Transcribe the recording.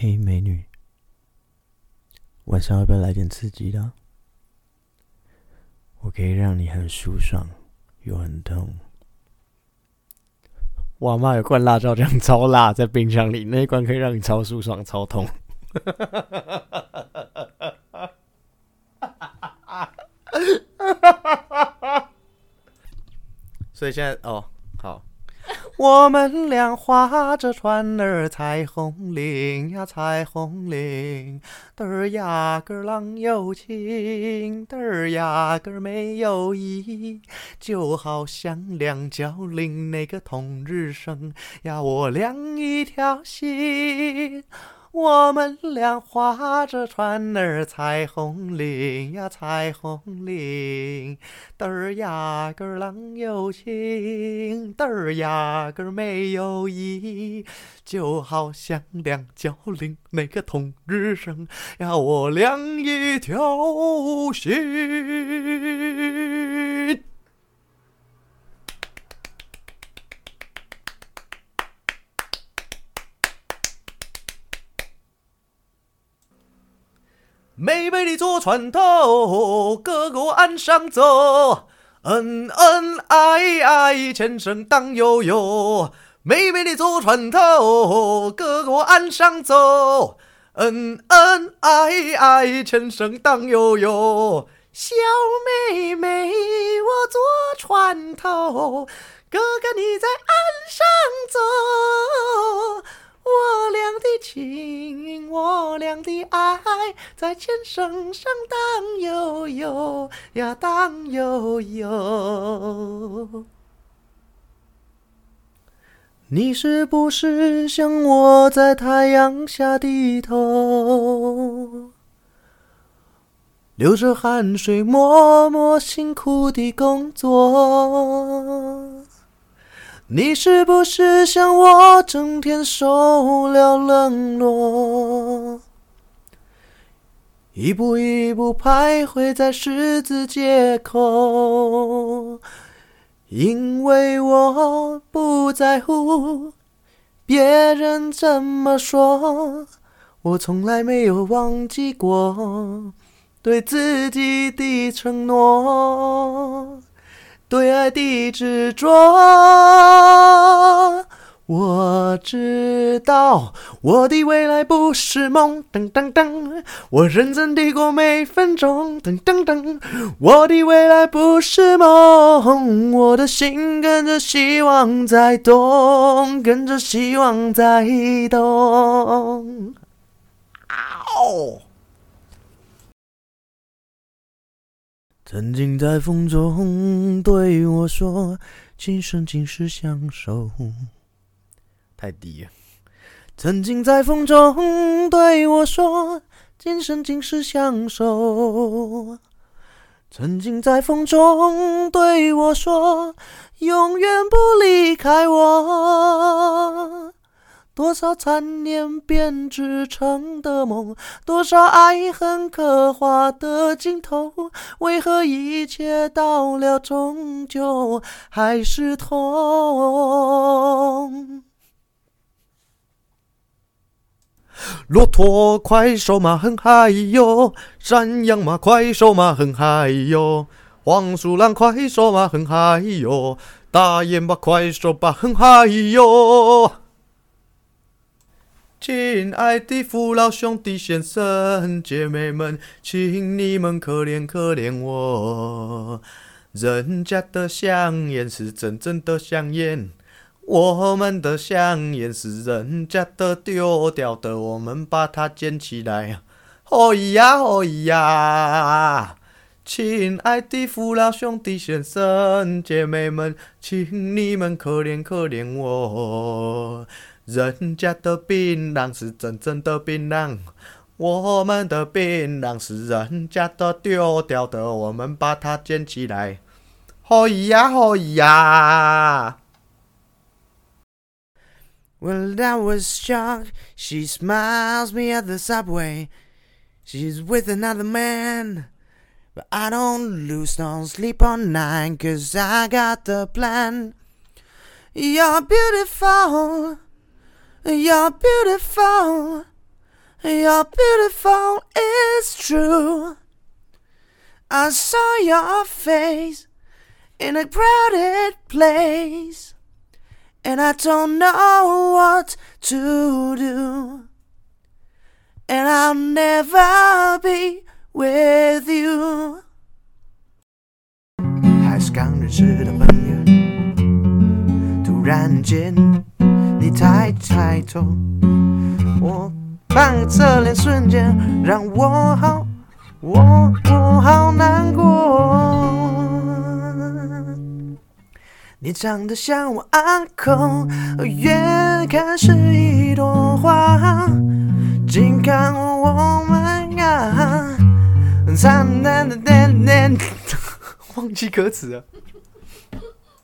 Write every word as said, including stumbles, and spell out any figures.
嘿，美女，晚上要不要来点刺激的啊？我可以让你很舒爽又很痛。我阿嬷有罐辣椒酱超辣，在冰箱里，那一罐可以让你超舒爽、超痛。所以现在哦，好。我们俩划着船儿，彩虹岭呀彩虹岭，嘚儿呀个浪有情，嘚儿呀个没有意，就好像两角岭那个同日生呀，我俩一条心。我们俩划着船儿，彩虹岭呀彩虹岭，嘚儿呀个浪有情，嘚儿呀个没有意，就好像两角岭那个同日生呀，我俩一条心。妹妹你坐船头，哥哥岸上走，恩恩爱爱，前生当悠悠。妹妹你坐船头，哥哥岸上走，恩恩爱爱，前生当悠悠。小妹妹我坐船头，哥哥你在岸上走，我俩的情，我俩的爱，在前生上当悠悠呀，当悠悠。你是不是像我在太阳下低头，流着汗水，默默辛苦地工作？你是不是像我整天受了冷落，一步一步徘徊在十字街口？因为我不在乎别人怎么说，我从来没有忘记过对自己的承诺，对爱的执着。我知道我的未来不是梦，噔噔噔，我认真地过每分钟，噔噔噔。我的未来不是梦，我的心跟着希望在动，跟着希望在动。嗷！曾经在风中对我说，今生今世相守。太低了。曾经在风中对我说，今生今世相守。曾经在风中对我说，永远不离开我。多少残念编织成的梦，多少爱恨刻画的镜头，为何一切到了终究还是痛？骆驼快手马很嗨哟，山羊马快手马很嗨哟，黄鼠狼快手马很嗨哟，大雁巴快手马很嗨哟。亲爱的父老兄弟先生姐妹们，请你们可怜可怜我，人家的香烟是真正的香烟，我们的香烟是人家的丢掉的，我们把它捡起来。哦咿呀哦咿呀，亲爱的父老兄弟先生姐妹们，请你们可怜可怜我，人家的槟榔是真正的槟榔，我们的槟榔是人家的丢掉的，我们把它捡起来。哦咿呀哦咿呀。Well, that was shocked. She smiles me at the subway. She's with another man. But I don't lose no sleep all night, 'cause I got the plan. You're beautiful. You're beautiful. You're beautiful, it's true. I saw your face in a crowded place, and I don't know what to do, and I'll never be with you. 还是刚认识的朋友，突然间你抬抬头，我半个侧脸瞬间让我好，我我好难过。你长得像我 uncle， 远看是一朵花，近看我们啊，灿烂的点点，忘记歌词了。